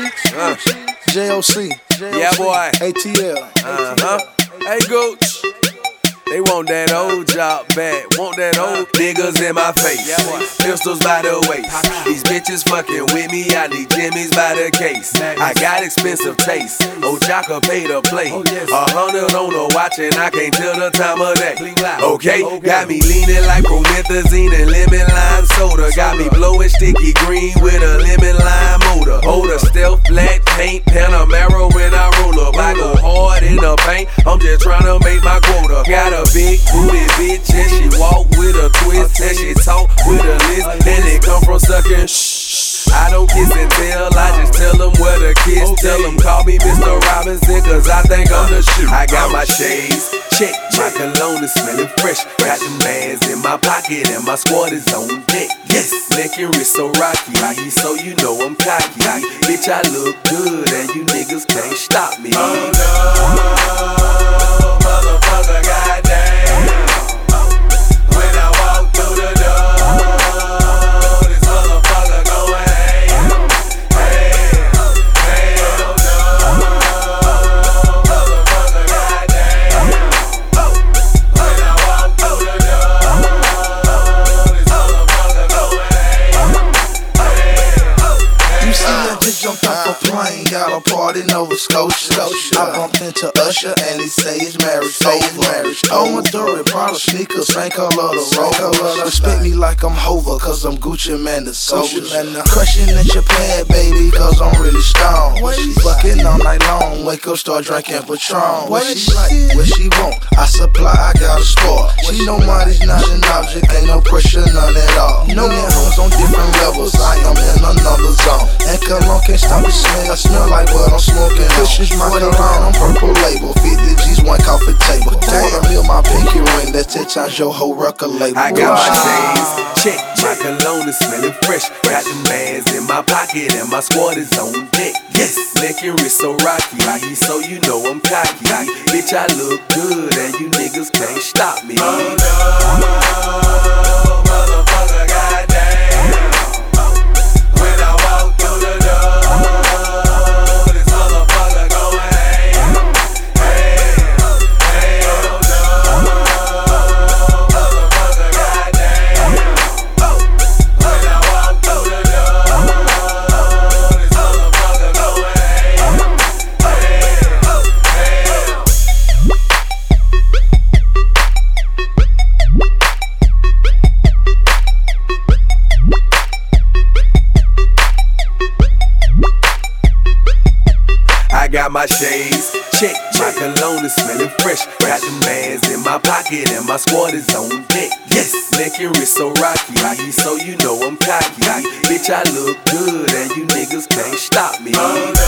JOC. Yeah, boy. ATL. Hey, Gooch. They want that old job back, want that old niggas in my face. Pistols by the waist. These bitches fucking with me, I need Jimmy's by the case. I got expensive taste, Ojaka pay to play. 100 on the watch and I can't tell the time of day. Okay, got me leaning like promethazine and lemon lime soda. Got me blowing sticky green with a lemon lime motor. Hold a stealth black paint, Panamera when I roll up. I go hard in the paint, I'm just trying to make my quota. Got a big booty bitch and she walk with a twist and she talk with a list and it come from sucking shh. I don't kiss and tell, I just tell them where to kiss. Tell them call me Mr. Robinson cause I think I'm the shit. I got my shades, check, my cologne is smelling fresh. Got them bands in my pocket and my squad is on deck. Yes, neck and wrist so rocky, so you know I'm cocky. Bitch, I look good and you niggas can't stop me. Oh no, motherfucker, goddamn. When I walk through the door, this motherfucker going ham. Hell no, motherfucker, goddamn. When I walk through the door, this motherfucker going ham. You see, I just jumped off a plane, got a party in Nova Scotia. I bumped into Usher and he say his marriage over. On my Dory, Prada sneakers, same color the rover. Respect me like I'm Hova, cause I'm Gucci man the soldier. Crushing at your pad, baby, cause I'm really stoned. She fucking all night long, wake up, start drinking Patron. What she like, what she want, I supply, I got a sport. She know money's not an object, ain't no pressure, none at all. No man homes on different levels, I am in another zone. And cologne can't stop the smell, I smell like what I'm smoking. Pushes my cologne on purple label, 50 G's, one coffee table. $250 my pinky ring, that's 10 times your whole record label. I got my shades, check, my cologne is smelling fresh. Got them bands in my pocket and my squad is on deck. Yes, neck and wrist so rocky, so you know I'm cocky. Bitch, I look good and you niggas can't stop me. Oh no, motherfucker, goddamn. When I walk through the door, this motherfucker going ham. Hell no, motherfucker, goddamn. When I walk through the door, this motherfucker going ham. I got my shades, check, my cologne is smelling fresh. Got them bands in my pocket and my squad is on deck. Yes, neck and wrist so rocky, so you know I'm cocky. Bitch, I look good and you niggas can't stop me.